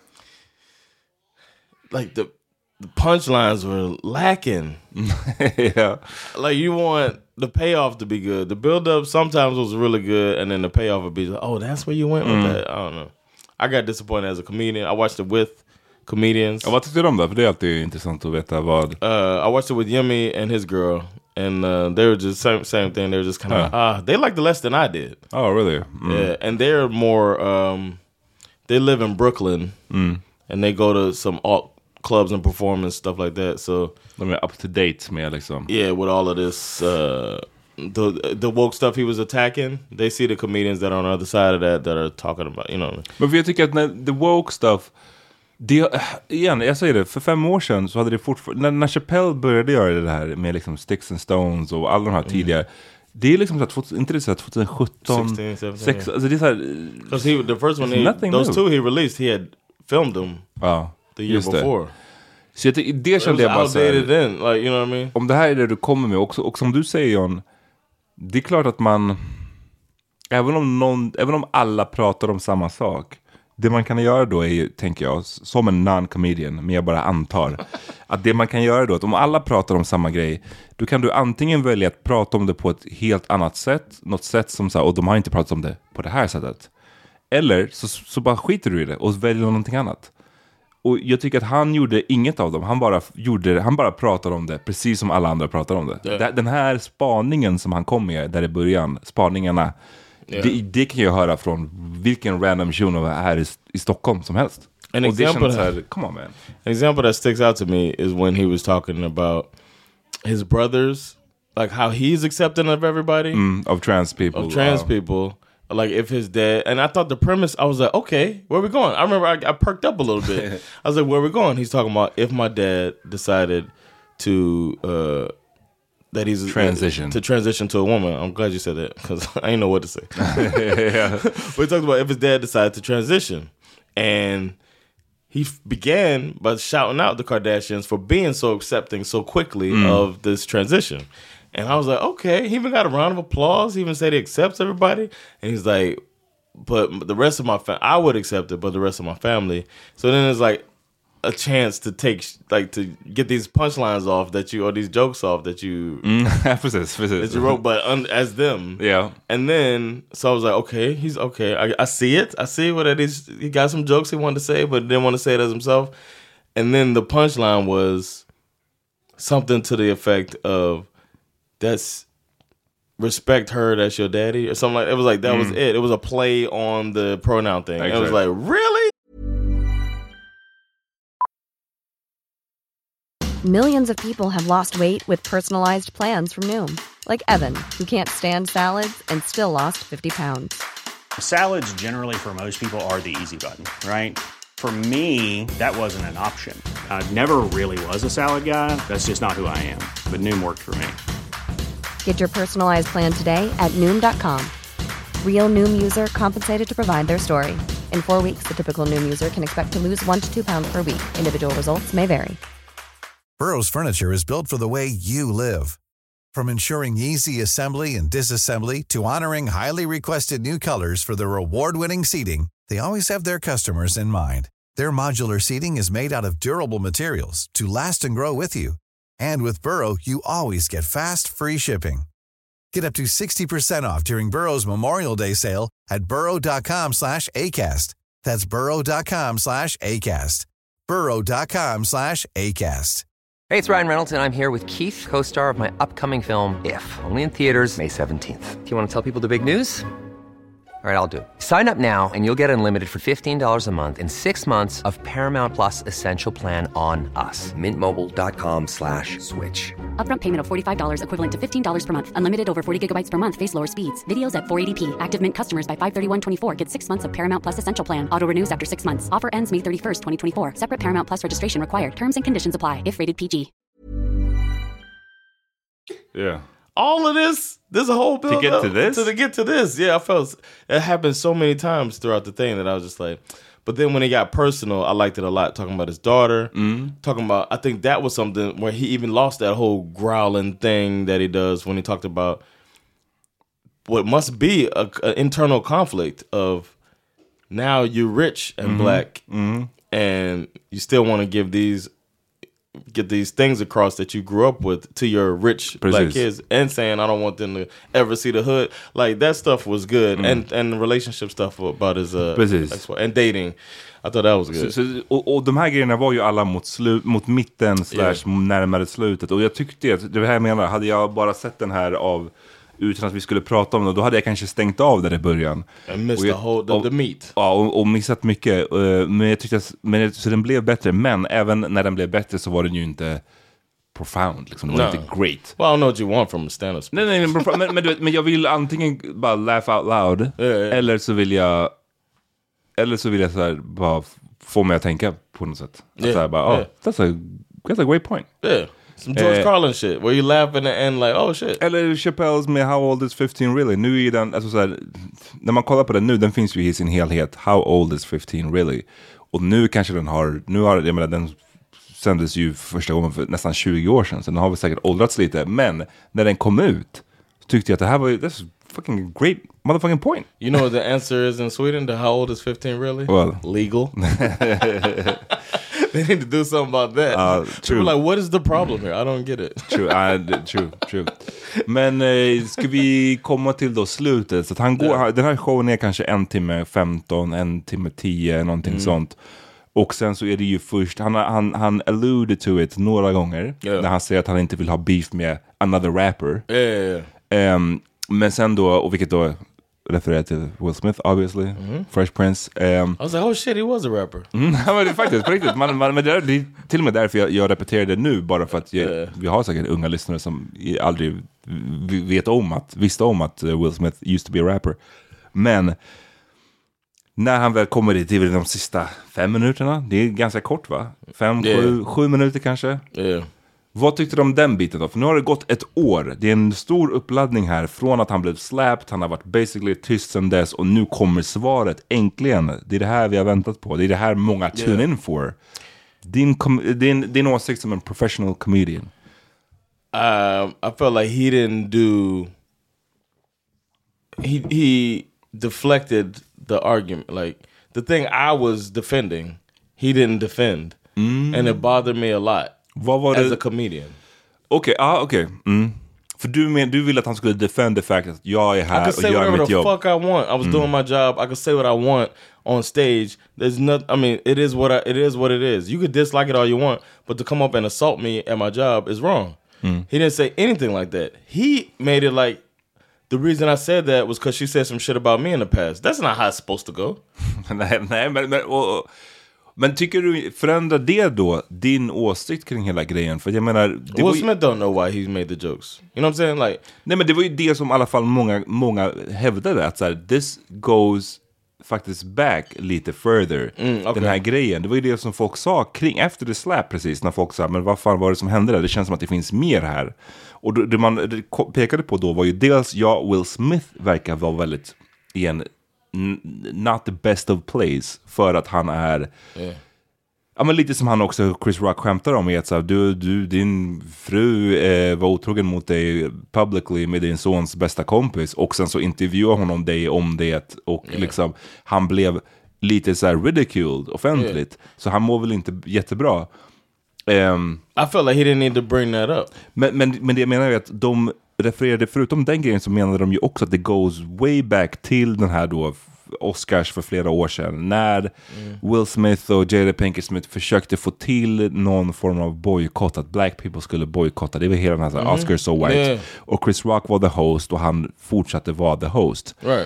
Like the the punchlines were lacking. Yeah. Like you want the payoff to be good. The build up sometimes was really good, and then the payoff would be like, oh, that's where you went with mm. that. I don't know. I got disappointed as a comedian. I watched it with comedians. Och vad tyckte du om det? För det är alltid intressant att veta vad. Uh, I watched it with Yemi and his girl, and uh, they were just same same thing. They were just kind of uh. uh, they liked it less than I did. Oh, really? Mm. Yeah, and they're more. Um, they live in Brooklyn, mm. and they go to some alt clubs and performance stuff like that. So de är up to date med liksom. Yeah, with all of this uh, the the woke stuff he was attacking. They see the comedians that are on the other side of that that are talking about, you know. Men för jag tycker att när the woke stuff det, igen, jag säger det, för fem år sedan så hade det fortfarande, när, när Chappelle började göra det här med liksom Sticks and Stones och alla de här tidigare, mm. det är liksom så att, inte det så att tjugo sjutton, sexton, seventeen, sex, alltså det är så här, because he, the first one, he, those new. two he released, he had filmed them ja, the year before. Det. Så jag, det kände jag bara så här, then, like, you know what I mean? Om det här är det du kommer med också, och som du säger John, det är klart att man, även om någon, även om alla pratar om samma sak, det man kan göra då är ju, tänker jag, som en non-comedian, men jag bara antar att det man kan göra då, att om alla pratar om samma grej, då kan du antingen välja att prata om det på ett helt annat sätt, något sätt som så här, och de har inte pratat om det på det här sättet, eller så, så bara skiter du i det och väljer någonting annat. Och jag tycker att han gjorde inget av dem. Han bara gjorde det, han bara pratade om det precis som alla andra pratar om det. Yeah. Den här spaningen som han kom med där i början, spaningarna, yeah. det, det kan jag höra från vilken random shuno här i, i Stockholm som helst. An example, that, här, come on man. An example that sticks out to me is when he was talking about his brothers, like how he's accepting of everybody, mm, of trans people, of trans wow. people. Like if his dad, and I thought the premise, I was like, okay, where are we going? I remember I, I perked up a little bit. I was like, where are we going? He's talking about if my dad decided to, uh, that he's transition uh, to transition to a woman. I'm glad you said that because I didn't know what to say. Yeah. But he talked about if his dad decided to transition, and he f- began by shouting out the Kardashians for being so accepting so quickly mm. of this transition. And I was like, okay, he even got a round of applause. He even said he accepts everybody. And he's like, but the rest of my family, I would accept it, but the rest of my family. So then it's like a chance to take, like to get these punchlines off that you, or these jokes off that you, mm, precis, precis. that you wrote, but un, as them. Yeah. And then, so I was like, okay, he's okay. I, I see it. I see what it is. He got some jokes he wanted to say, but didn't want to say it as himself. And then the punchline was something to the effect of, that's respect her, that's your daddy, or something like that. It was like that mm. was it. It was a play on the pronoun thing. Exactly. It was like, really? Millions of people have lost weight with personalized plans from Noom. Like Evan, who can't stand salads and still lost fifty pounds. Salads generally for most people are the easy button, right? For me, that wasn't an option. I never really was a salad guy. That's just not who I am. But Noom worked for me. Get your personalized plan today at Noom dot com. Real Noom user compensated to provide their story. In four weeks, the typical Noom user can expect to lose one to two pounds per week. Individual results may vary. Burrow's furniture is built for the way you live. From ensuring easy assembly and disassembly to honoring highly requested new colors for their award-winning seating, they always have their customers in mind. Their modular seating is made out of durable materials to last and grow with you. And with Burrow, you always get fast, free shipping. Get up to sixty percent off during Burrow's Memorial Day sale at burrow.com slash ACAST. That's burrow.com slash ACAST. burrow.com slash ACAST. Hey, it's Ryan Reynolds, and I'm here with Keith, co-star of my upcoming film, If, only in theaters May seventeenth. Do you want to tell people the big news? All right, I'll do it. Sign up now and you'll get unlimited for fifteen dollars a month and six months of Paramount Plus Essential Plan on us. Mint Mobile dot com slash switch. Upfront payment of forty-five dollars equivalent to fifteen dollars per month. Unlimited over forty gigabytes per month. Face lower speeds. Videos at four eighty p. Active Mint customers by five thirty-one twenty-four get six months of Paramount Plus Essential Plan. Auto renews after six months. Offer ends May thirty-first, twenty twenty-four. Separate Paramount Plus registration required. Terms and conditions apply if rated P G. Yeah. All of this, there's a whole build to get up to this, to, to get to this. Yeah, I felt it happened so many times throughout the thing that I was just like. But then when it got personal, I liked it a lot. Talking about his daughter, mm. talking about. I think that was something where he even lost that whole growling thing that he does when he talked about what must be a, a internal conflict of now you're rich and mm-hmm. black, mm-hmm. and you still want to give these. Get these things across that you grew up with to your rich Precis. black kids, and saying I don't want them to ever see the hood. Like that stuff was good, mm. and and relationship stuff about his uh, Precis. and dating. I thought that was good. Så, så, och, och de här grejerna var ju alla mot, slu, mot mitten slash yeah. närmare slutet. Och jag tyckte att det här menar, hade jag bara sett den här av utan att vi skulle prata om det, då hade jag kanske stängt av där i början. And missed jag, the whole the, och, the meat. Ja, och, och missat mycket. Uh, men jag tyckte att, men, så den blev bättre. Men även när den blev bättre så var den ju inte profound. Liksom. Det var no. inte great. Well, I don't know what you want from a stand-up. Nej, nej, men, men, men, men jag vill antingen bara laugh out loud. Yeah, yeah. Eller så vill jag Eller så vill jag så här, bara få mig att tänka på något sätt. Att yeah, så här, bara, oh, yeah. that's, a, that's a great point. Yeah. Some George eh, Carlin shit, where you laugh in the end like, oh shit. Eller Chappelle's med How Old Is fifteen Really? Nu är den, alltså så här, när man kollar på den nu, den finns ju i sin helhet. How Old Is fifteen Really? Och nu kanske den har, nu har, jag menar, den sändes ju första gången för nästan tjugo år sedan, så den har väl säkert åldrats lite. Men när den kom ut så tyckte jag att det här var ju, that's fucking great motherfucking point. You know what the answer is in Sweden to How Old Is fifteen Really? Well, legal. They need to do something about that. Uh, true. People are like, what is the problem here? I don't get it. True, uh, true, true. Men eh, ska vi komma till då slutet? Så att han går, yeah. Den här showen är kanske en timme femton, en timme tio, någonting mm. sånt. Och sen så är det ju först, han, han, han alluded to it några gånger. Yeah. När han säger att han inte vill ha beef med another rapper. Yeah, yeah, yeah. Um, men sen då, och vilket då refererar till Will Smith, obviously, mm-hmm. Fresh Prince. Um, I was like, oh shit, he was a rapper. Mm, men det är faktiskt, på riktigt. Man, man, men det, är, det är till och med därför jag, jag repeterar det nu, bara för att jag, yeah. vi har säkert unga lyssnare som aldrig vet om att, visste om att Will Smith used to be a rapper. Men när han väl kommer dit, det är de sista fem minuterna, det är ganska kort va? Fem, yeah. sju, sju minuter kanske? Yeah. Vad tyckte du om den biten då? För nu har det gått ett år. Det är en stor uppladdning här. Från att han blev slapped, han har varit basically tyst sedan dess. Och nu kommer svaret, äntligen. Det är det här vi har väntat på. Det är det här många tune yeah. in for. Din, com- din, din åsikt som en professional comedian. Um, I felt like he didn't do... He, he deflected the argument. Like, the thing I was defending, he didn't defend. Mm. And it bothered me a lot. Vad var as det? A comedian. Okej, okay, ah, okej. Okay. Mm. För du men du vill att han skulle defend the fact att jag är här och gör mitt jobb. I could say whatever the fuck I want. I was mm. doing my job. I could say what I want on stage. There's not. I mean, it is what I, it is. What it is. You could dislike it all you want, but to come up and assault me at my job is wrong. Mm. He didn't say anything like that. He made it like the reason I said that was because she said some shit about me in the past. That's not how it's supposed to go. nej, nej, men, men och, Men tycker du, förändrar det då din åsikt kring hela grejen? För jag menar... Det Will Smith don't know why he made the jokes. You know what I'm saying? Like, nej, men det var ju det som i alla fall många, många hävdade. Att så här, this goes faktiskt back lite further. Mm, okay. Den här grejen. Det var ju det som folk sa kring efter the slap precis. När folk sa, men vad fan var det som hände där? Det känns som att det finns mer här. Och det man pekade på då var ju dels, ja, Will Smith verkar vara väldigt igen... not the best of plays för att han är yeah. ja, men lite som han också Chris Rock skämtar om är att så här, du, du, din fru eh, var otrogen mot dig publicly med din sons bästa kompis och sen så intervjuar honom dig om det och yeah. liksom han blev lite så här ridiculed offentligt yeah. så han mår väl inte jättebra. um, I felt like he didn't need to bring that up. Men, men, men det jag menar är att de refererade, förutom den grejen så menade de ju också att det goes way back till den här då Oscars för flera år sedan. När mm. Will Smith och Jada Pinkett Smith försökte få till någon form av bojkott. Att black people skulle bojkotta. Det var hela den här mm. Oscars so white. Yeah. Och Chris Rock var the host och han fortsatte vara the host. Right.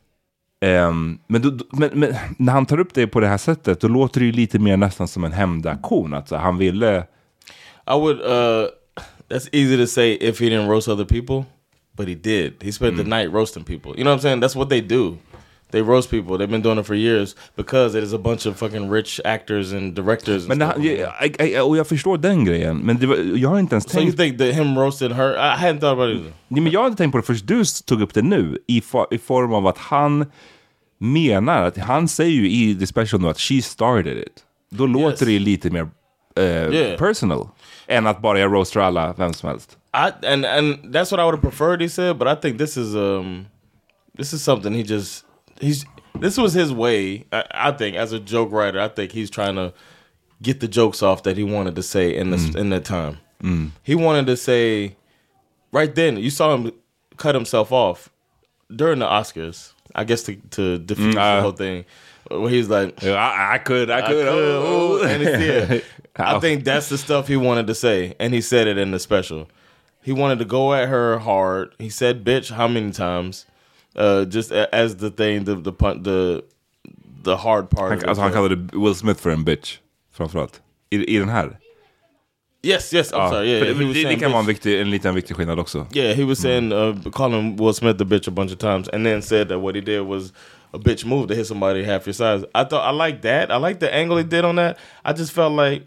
Um, men, då, men, men när han tar upp det på det här sättet, då låter det ju lite mer nästan som en hämndaktion. Alltså han ville... I would... Uh, that's easy to say if he didn't roast other people. But he did. He spent mm. the night roasting people. You know what I'm saying? That's what they do. They roast people. They've been doing it for years because it is a bunch of fucking rich actors and directors. And men han, jag, jag, och jag förstår den grejen. Men det var, jag har inte ens so tänkt... So you think that him roasted her? I hadn't thought about it either. Nej, men jag har inte tänkt på det först du tog upp det nu. I, for, i form av att han menar att han säger ju i the special nu att she started it. Då yes. låter det lite mer uh, yeah. personal. Än att bara jag roastar alla, vem som helst. I and and that's what I would have preferred, he said, but I think this is um this is something he just he's this was his way. I, I think as a joke writer, I think he's trying to get the jokes off that he wanted to say in this mm. in that time. Mm. He wanted to say right then. You saw him cut himself off during the Oscars, I guess to to defuse mm, uh, the whole thing. Where he's like, I, I could, I could, I could. Oh. And it's, yeah. I think that's the stuff he wanted to say, and he said it in the special. He wanted to go at her hard. He said "bitch" how many times? Uh, just as the thing, the the the the hard part. Han, alltså han kallade Will Smith för en bitch, framförallt i i den här. Yes, yes. I'm ja, sorry. Yeah, det, det, det kan vara en viktig, en liten viktig skillnad också. Yeah, he was saying uh, calling Will Smith the bitch a bunch of times, and then said that what he did was a bitch move to hit somebody half your size. I thought I liked that. I liked the angle he did on that. I just felt like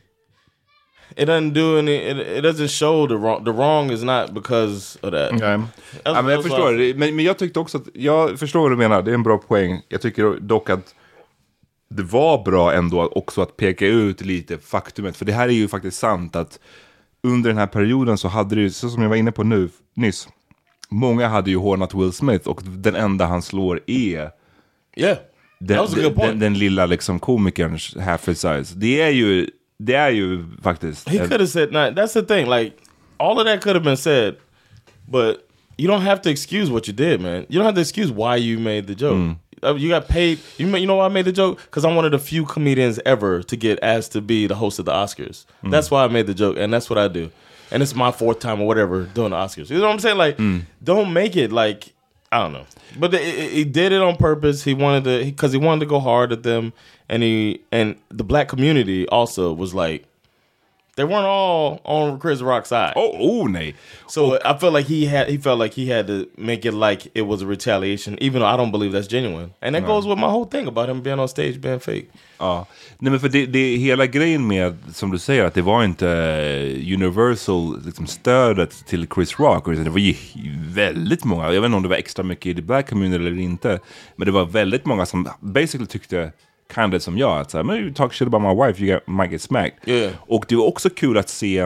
it doesn't do any. It, it doesn't show the wrong. The wrong is not because of that. Okay. Ja, men jag förstår det. Men, men jag tyckte också att jag förstår vad du menar. Det är en bra poäng. Jag tycker dock att det var bra ändå också att peka ut lite faktumet. För det här är ju faktiskt sant att under den här perioden så hade det ju, så som jag var inne på nu nyss, många hade ju hånat Will Smith och den enda han slår är yeah. den, den, den, den lilla liksom komikerns half his size. Det är ju det är ju faktiskt. He could have said, nah, that's the thing, like all of that could have been said, but you don't have to excuse what you did, man. You don't have to excuse why you made the joke. Mm. You got paid. You you know why I made the joke? Because I'm one of the few comedians ever to get asked to be the host of the Oscars. Mm. That's why I made the joke, and that's what I do. And it's my fourth time or whatever doing the Oscars. You know what I'm saying? Like, mm. don't make it like, I don't know. But the, it, he did it on purpose. He wanted to, because he, he wanted to go hard at them, and he and the black community also was like, they weren't all on Chris Rock's side. Oh, oh, nej. So oh. I felt like he had, he felt like he had to make it like it was a retaliation, even though I don't believe that's genuine. And that no. goes with my whole thing about him being on stage being fake. Ja, nej men för det, det hela grejen med, som du säger, att det var inte universal liksom, stödet till Chris Rock. Det var ju väldigt många, jag vet inte om det var extra mycket i the black community eller inte, men det var väldigt många som basically tyckte kind of som jag, att såhär, men you talk shit about my wife, you get, might get smacked. Yeah. Och det var också kul att se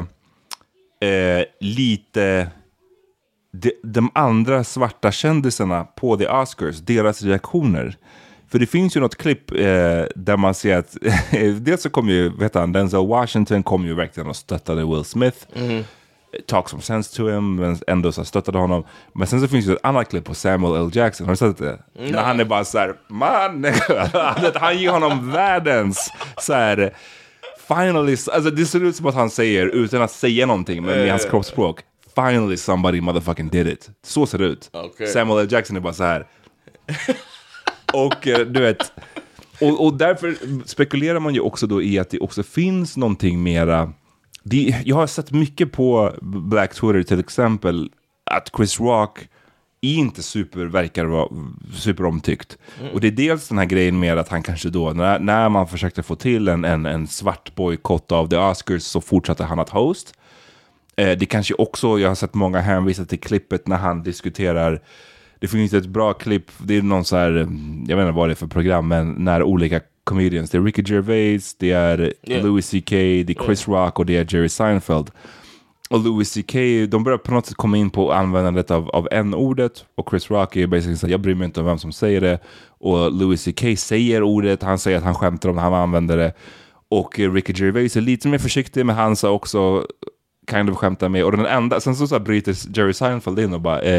eh, lite de, de andra svarta kändisarna på the Oscars, deras reaktioner. För det finns ju något klipp eh, där man ser att dels så kom ju, vet han, Denzel Washington kom ju verkligen och stöttade Will Smith. Mm. Talk some sense to him, men ändå så stöttade honom. Men sen så finns det ett annat klipp på Samuel L. Jackson. Har du sett det? Mm. När han är bara så här, man, han ger honom världens så här, finally, alltså det ser ut som att han säger, utan att säga någonting, men med hans kroppsspråk, finally somebody motherfucking did it. Så ser det ut. Okay. Samuel L. Jackson är bara så här. Och du vet, och, och därför spekulerar man ju också då i att det också finns någonting mera. Det, jag har sett mycket på Black Twitter till exempel att Chris Rock inte super verkar vara superomtyckt. Mm. Och det är dels den här grejen med att han kanske då, när, när man försökte få till en, en, en svart bojkott av the Oscars, så fortsatte han att host. Eh, det kanske också, jag har sett många hänvisa till klippet när han diskuterar. Det finns ett bra klipp, det är någon så här, jag vet inte vad det är för program, men när olika comedians, det är Ricky Gervais, det är yeah. Louis C K, det är Chris yeah. Rock och det är Jerry Seinfeld. Och Louis C K, de börjar på något sätt komma in på användandet av, av n-ordet, och Chris Rock är basically så här, jag bryr mig inte om vem som säger det, och Louis C K säger ordet, han säger att han skämtar om när han använder det, och Ricky Gervais är lite mer försiktig, men han sa också kind of skämtar med, och den enda, sen så, så här bryter Jerry Seinfeld in och bara, eh,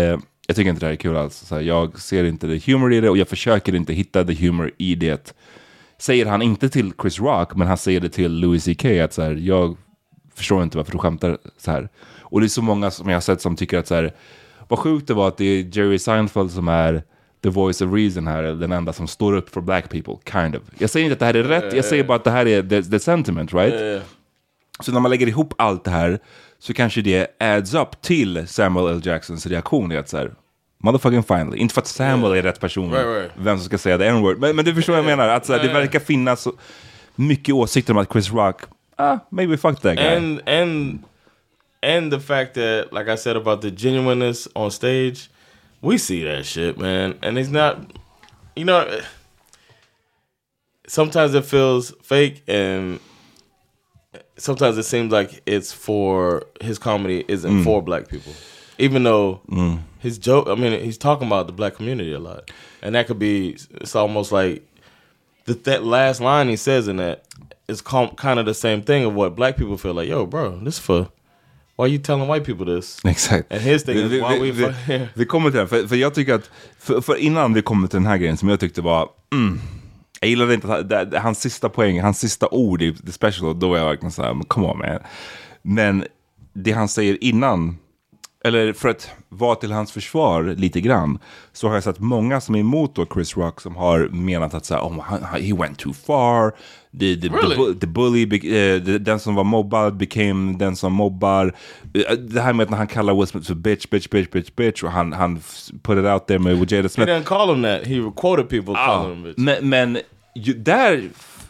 Jag tycker inte det här är kul alls. Så här, jag ser inte the humor i det och jag försöker inte hitta the humor i det. Säger han inte till Chris Rock, men han säger det till Louis C K att så här, jag förstår inte varför du skämtar så här. Och det är så många som jag har sett som tycker att så här, vad sjukt det var att det är Jerry Seinfeld som är the voice of reason här, den enda som står upp för black people, kind of. Jag säger inte att det här är rätt, jag säger bara att det här är the, the sentiment, right? Så när man lägger ihop allt det här så kanske det adds up till Samuel L. Jacksons reaktion i att så här, motherfucking finally. Inte för att Samuel yeah. är rätt person, right, right. vem som ska säga the n-word. Men, men du förstår vad jag menar. Att så här, det verkar finnas så mycket åsikter om att Chris Rock, ah, maybe fuck that guy. And, and, and the fact that, like I said about the genuineness on stage, we see that shit, man. And it's not, you know, sometimes it feels fake and sometimes it seems like it's for, his comedy isn't mm. for black people. Even though mm. his joke, I mean, he's talking about the black community a lot. And that could be, it's almost like, the that last line he says in that is com- kind of the same thing of what black people feel like, yo, bro, this for, why are you telling white people this? Exakt. And his thing vi, is, why vi, we... Vi, vi kommer till det, för, för jag tycker att, för, för innan vi kommer till den här grejen som jag tyckte var, mm, jag gillade inte att, det, det, hans sista poäng, hans sista ord i The Special, då var jag verkligen såhär, come on man. Men det han säger innan, eller för att vara till hans försvar lite grann, så har jag sett många som är emot då Chris Rock som har menat att så här, oh, he went too far, the, the, really? the, the bully, uh, the, den som var mobbad became den som mobbar. Det här med att när han kallar Will Smith för bitch, bitch, bitch, bitch, bitch, och han, han put it out there med Jada Smith. He didn't call him that, he quoted people ah, calling him bitch. Men, men ju, där...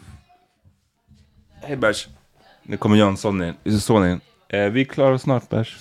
Hej Bärs, nu kommer Jönsson in, son in. Eh, vi klarar snart Bärs.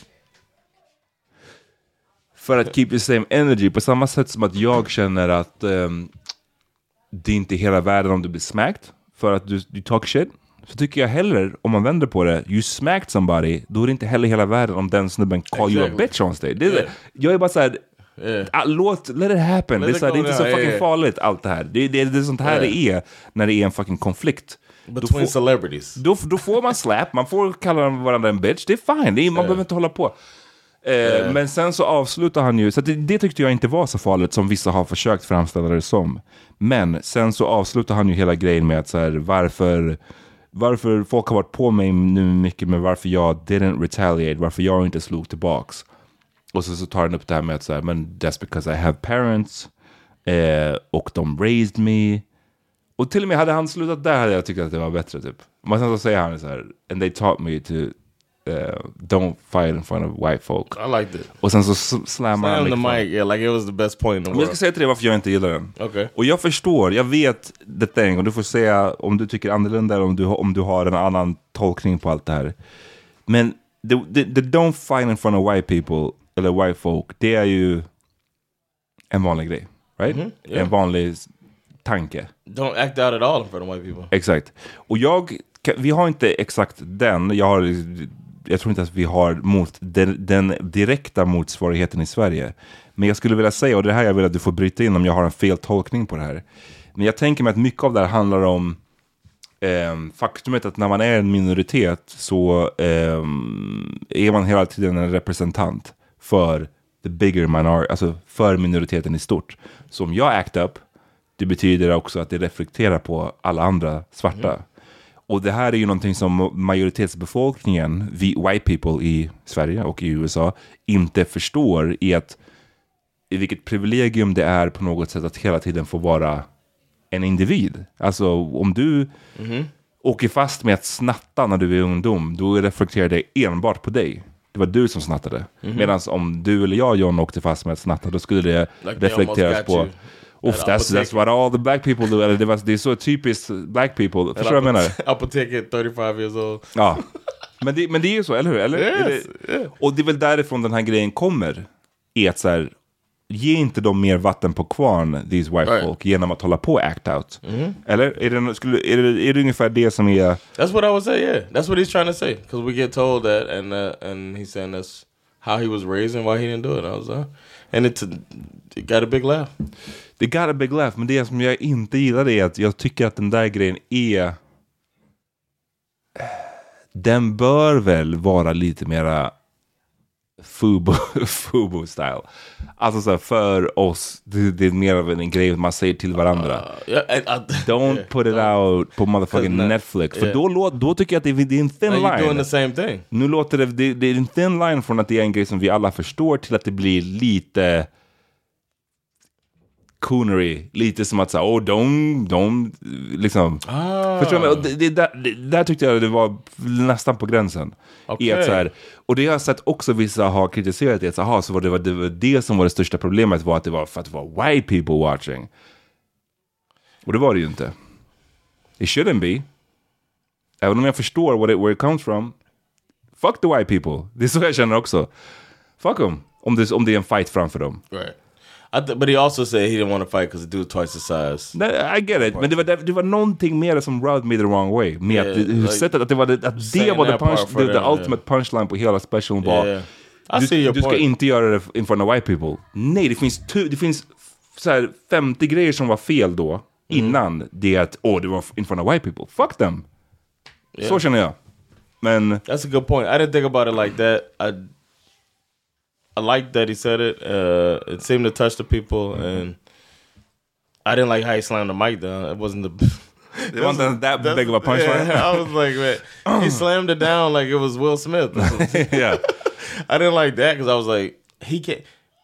För att keep the same energy. På samma sätt som att jag känner att um, det är inte hela världen om du blir smacked. För att du, du talk shit. Så tycker jag heller, om man vänder på det, you smacked somebody, då är det inte heller hela världen om den snubben call exactly. you a bitch on stage. Det är, yeah. Jag är bara såhär, yeah. ah, låt, let it happen. Let det är, såhär, det är inte så fucking yeah, yeah. farligt allt det här. Det, det, det är sånt här yeah. det är när det är en fucking konflikt. Between får, celebrities. Då, då får man slap, man får kalla varandra en bitch. Det är fine, det är, man yeah. behöver inte hålla på. Eh, yeah. Men sen så avslutar han ju, så det, det tyckte jag inte var så farligt som vissa har försökt framställa det som. Men sen så avslutar han ju hela grejen med att så här, varför varför folk har varit på mig nu mycket med varför jag didn't retaliate, varför jag inte slog tillbaks. Och så, så tar han upp det här med att så här, men that's because I have parents eh, och de raised me. Och till och med hade han slutat där hade jag tyckt att det var bättre typ. Men sen så säger han så här, and they taught me to Uh, don't fight in front of white folk. I liked it. Och sen så slammar han the mic, yeah, like it was the best point in the world. Jag ska säga till dig varför jag inte gillar den. Okay. Och jag förstår, jag vet the thing, och du får säga om du tycker annorlunda eller om du, om du har en annan tolkning på allt det här. Men the, the, the don't fight in front of white people eller white folk, det är ju en vanlig grej, right? Mm-hmm, yeah. En vanlig tanke. Don't act out at all in front of white people. Exakt. Och jag, vi har inte exakt den, jag har jag tror inte att vi har mot den, den direkta motsvarigheten i Sverige. Men jag skulle vilja säga, och det här jag vill att du får bryta in om jag har en fel tolkning på det här. Men jag tänker mig att mycket av det här handlar om eh, faktumet att när man är en minoritet så eh, är man hela tiden en representant för the bigger minority, alltså för minoriteten i stort. Så om jag act up, det betyder också att det reflekterar på alla andra svarta. Mm. Och det här är ju någonting som majoritetsbefolkningen, vi white people i Sverige och i U S A, inte förstår i att i vilket privilegium det är på något sätt att hela tiden få vara en individ. Alltså om du mm-hmm. åker fast med att snatta när du är ungdom, då reflekterar det enbart på dig. Det var du som snattade. Mm-hmm. Medan om du eller jag, John, åkte fast med att snatta, då skulle det like reflekteras på... Uff, that's, that's what all the black people do. Eller det, var, det är så typiskt black people. Förstår du vad jag menar? Apotek thirty-five years old. Ja, men det, men det är ju så, eller hur? Eller? Yes, är det, yeah. Och det är väl därifrån den här grejen kommer. Är att så här, ge inte dem mer vatten på kvarn, these white right. folk, genom att hålla på act out. Mm-hmm. Eller? Är det, skulle, är, det, är det ungefär det som är... That's what I would say, yeah. That's what he's trying to say. Because we get told that, and uh, and he's saying that's how he was raised and why he didn't do it. I was, uh, and it, it got a big laugh. Det got a big laugh, men det som jag inte gillar är att jag tycker att den där grejen är... Den bör väl vara lite mera Fubo, Fubo style. Alltså så här, för oss det, det är mer av en grej man säger till varandra. Uh, yeah, I, I, Don't yeah, put it don't. out på motherfucking not, Netflix. För yeah. då, då tycker jag att det, det är en thin Now line. you're doing the same thing. Nu låter det, det, det är en thin line från att det är en grej som vi alla förstår till att det blir lite coonery, lite som att säga, oh, de, de, liksom, ah. förstår du? Och det, det, där, det där tyckte jag det var nästan på gränsen. Okay. I att så här, och det har jag sett också vissa har kritiserat det, så, aha, så var det, var det var det som var det största problemet, var att det var för att det var white people watching. Och det var det ju inte. It shouldn't be. Även om jag förstår what it, where it comes from. Fuck the white people. Det är så jag känner också. Fuck them. Om det, om det är en fight framför dem. Right. I th- but he also said he didn't want to fight because the dude twice his size. I get it. Men det var, det var någonting mer som rubbed me the wrong way. Med yeah, att, like, sättet att det var det, att det var the, punch, the, the ultimate yeah. punchline på hela specialen var yeah. I du, see your du ska point. inte göra det in front of white people. Nej, det finns, tu, det finns så här femtio grejer som var fel då. Mm. Innan det att, åh, oh, det var in front of white people. Fuck them. Yeah. Så känner jag. Men that's a good point. I didn't think about it like that. I I liked that he said it. Uh, it seemed to touch the people, mm-hmm. and I didn't like how he slammed the mic down. It wasn't the. It wasn't that big of a punchline. Yeah, I was like, man, he slammed it down like it was Will Smith. Yeah, I didn't like that because I was like, he can't.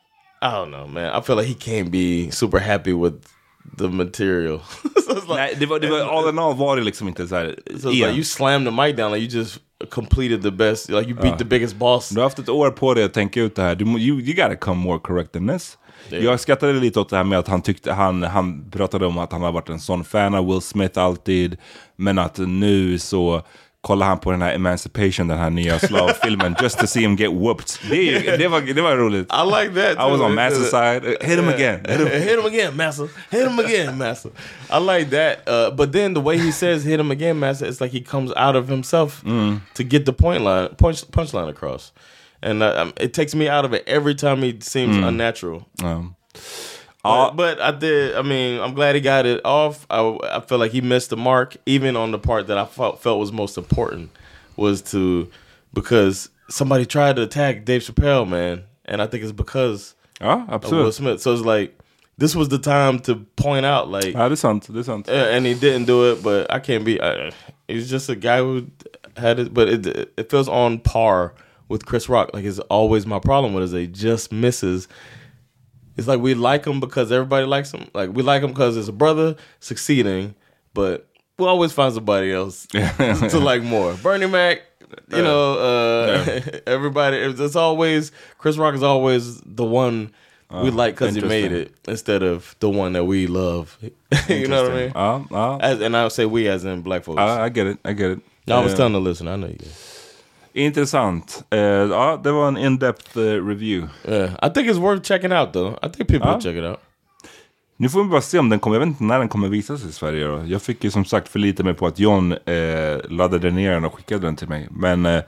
I don't know, man. I feel like he can't be super happy with the material. So it's like, nej, det var, det var all in all var det liksom inte så här. So it's like you slammed the mic down, like you just completed the best, like you beat uh, the biggest boss. Du har haft ett år på dig att tänka ut det här. Du, you, you gotta come more correct than this. Yeah. Jag skrattade lite åt det här med att han tyckte, han, han pratade om att han har varit en sån fan av Will Smith alltid, men att nu så kollar han på den här Emancipation, den här nya slavfilmen, just to see him get whooped. Det, det, var, det var roligt. I like that too. I was on Massa's side. Hit him again. Hit him, hit him again, Massa. Hit him again, Massa. I like that. Uh, but then the way he says hit him again, Massa, it's like he comes out of himself mm. to get the point line, punch, punchline across. And uh, um, it takes me out of it every time he seems mm. unnatural. Um. But, but I did. I mean, I'm glad he got it off. I, I feel like he missed the mark, even on the part that I felt, felt was most important, was to because somebody tried to attack Dave Chappelle, man, and I think it's because ja, of Will Smith. So it's like this was the time to point out, like, ja, det är sant, det är sant. Uh, and he didn't do it, but I can't be. Uh, he's just a guy who had it, but it it feels on par with Chris Rock. Like, it's always my problem with is they just misses. It's like we like him because everybody likes him. Like, we like him because it's a brother succeeding, but we'll always find somebody else to like more. Bernie Mac, you uh, know, uh, yeah. everybody. It's always, Chris Rock is always the one uh, we like because he made it instead of the one that we love. You know what I mean? Uh, uh, as, and I would say we as in black folks. Uh, I get it, I get it. No, I was uh, telling the listener, I know you. Intressant. Uh, ja, det var en in-depth uh, review. Yeah, I think it's worth checking out though. I think people ja. will check it out. Nu får vi bara se om den kommer. Jag vet inte när den kommer visas i Sverige då. Jag fick ju som sagt förlita mig på att John eh, laddade ner den och skickade den till mig. Men eh,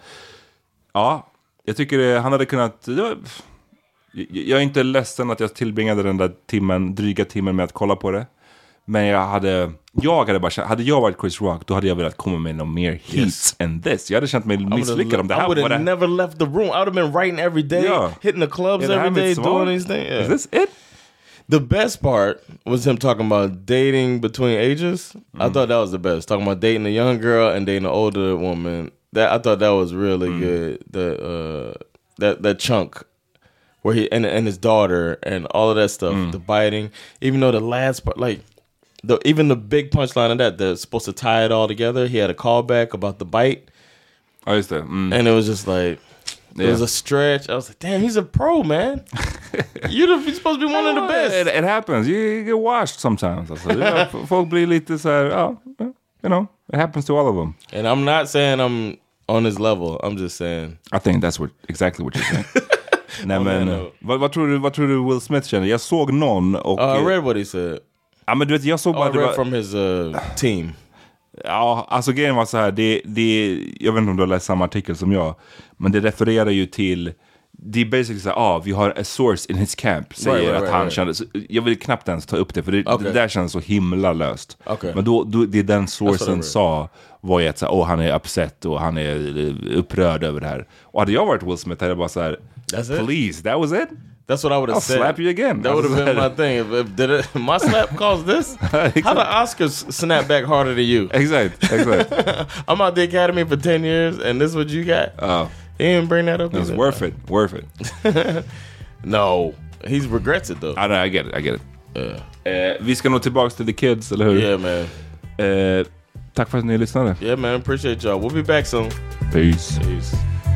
ja, jag tycker det, han hade kunnat... Det var, jag, jag är inte ledsen att jag tillbringade den där timmen, dryga timmen med att kolla på det. Men jag hade, jag hade bara känt, hade jag varit Chris Rock, då hade jag velat komma med någon mer heat yes. än this. Jag hade känt mig misslyckad om det här. I would have never left the room. I would have been writing every day, yeah. hitting the clubs yeah, every day, doing these things. Yeah. Is this it? The best part was him talking about dating between ages. Mm. I thought that was the best. Talking about dating a young girl and dating an older woman. That I thought that was really mm. good. The uh, that that chunk where he and and his daughter and all of that stuff. Mm. The biting, even though the last part, like. The, even the big punchline of that, they're supposed to tie it all together. He had a callback about the bite. Oh, is that? Mm. And it was just like, it yeah. was a stretch. I was like, damn, he's a pro, man. You're, the, you're supposed to be one of the best. It, it happens. You, you get washed sometimes. Alltså, yeah, folk blir lite så här, oh, you know, it happens to all of them. And I'm not saying I'm on his level. I'm just saying. I think that's what exactly what you're saying. Nej, oh, men, no. vad, vad, tror du, vad tror du Will Smith känner? Jag såg någon och... Uh, I read what he said. Ja, men du vet, jag såg bara... Oh, I read from his uh, team. Ja, alltså grejen var så här, det, det, jag vet inte om du har läst samma artikel som jag, men det refererar ju till, det är basically så här, ah, vi har a source in his camp, säger right, right, att han right, kände, jag vill knappt ens ta upp det, för det, okay. det där känns så himla löst. Okay. Men då, då, det den sourcen sa var ju att så här, oh, han är upset och han är upprörd över det här. Och hade jag varit Will Smith hade jag bara så här, That's it? Please, that was it? That's what I would have I'll said. slap you again. That would have been my thing. If, if did it, my slap caused this? Exactly. How the Oscars snap back harder than you? Exactly. Exactly. I'm out the Academy for ten years, and this is what you got? Oh. He didn't bring that up. It was worth it. Worth it. No. He regrets it, though. I, know, I get it. I get it. Yeah. Eh, vi ska nog tillbaka till The Kids, eller hur? Yeah, man. Eh, tack för att ni lyssnade. Yeah, man. Appreciate y'all. We'll be back soon. Peace. Peace.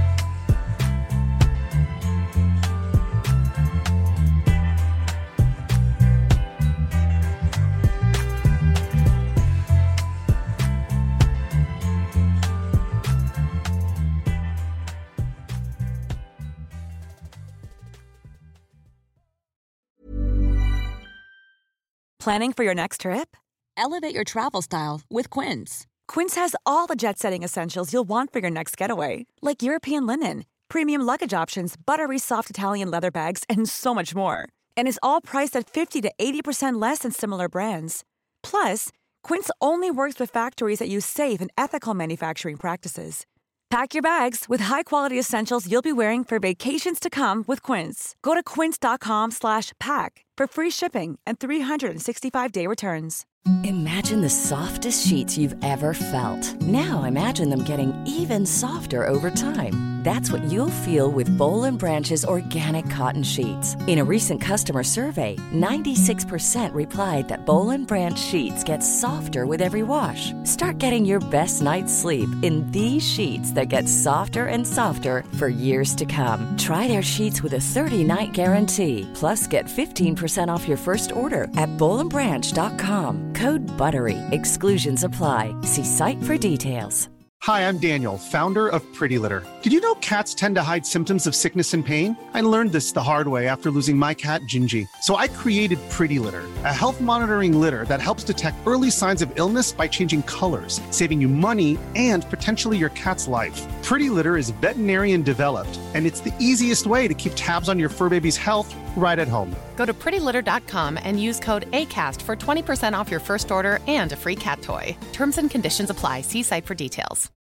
Planning for your next trip? Elevate your travel style with Quince. Quince has all the jet-setting essentials you'll want for your next getaway, like European linen, premium luggage options, buttery soft Italian leather bags, and so much more. And is all priced at fifty to eighty percent less than similar brands. Plus, Quince only works with factories that use safe and ethical manufacturing practices. Pack your bags with high-quality essentials you'll be wearing for vacations to come with Quince. Go to quince.com slash pack for free shipping and three sixty-five day returns. Imagine the softest sheets you've ever felt. Now imagine them getting even softer over time. That's what you'll feel with Boll and Branch's organic cotton sheets. In a recent customer survey, ninety-six percent replied that Boll and Branch sheets get softer with every wash. Start getting your best night's sleep in these sheets that get softer and softer for years to come. Try their sheets with a thirty-night guarantee. Plus, get fifteen percent off your first order at boll and branch dot com. Code BUTTERY. Exclusions apply. See site for details. Hi, I'm Daniel, founder of Pretty Litter. Did you know cats tend to hide symptoms of sickness and pain? I learned this the hard way after losing my cat, Gingy. So I created Pretty Litter, a health monitoring litter that helps detect early signs of illness by changing colors, saving you money and potentially your cat's life. Pretty Litter is veterinarian developed, and it's the easiest way to keep tabs on your fur baby's health right at home. Go to pretty litter dot com and use code ACAST for twenty percent off your first order and a free cat toy. Terms and conditions apply. See site for details.